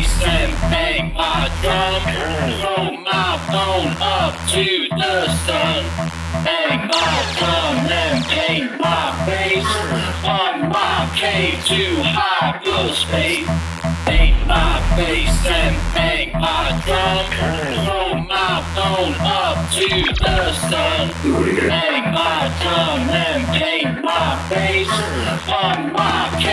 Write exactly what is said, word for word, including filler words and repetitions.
bass and bang my drum. Throw my phone up to the sun. Bang my drum and paint my face on my cave to hyperspace. Paint my face and bang my drum. Throw my phone up to the sun. Bang my drum and paint my face on my cave.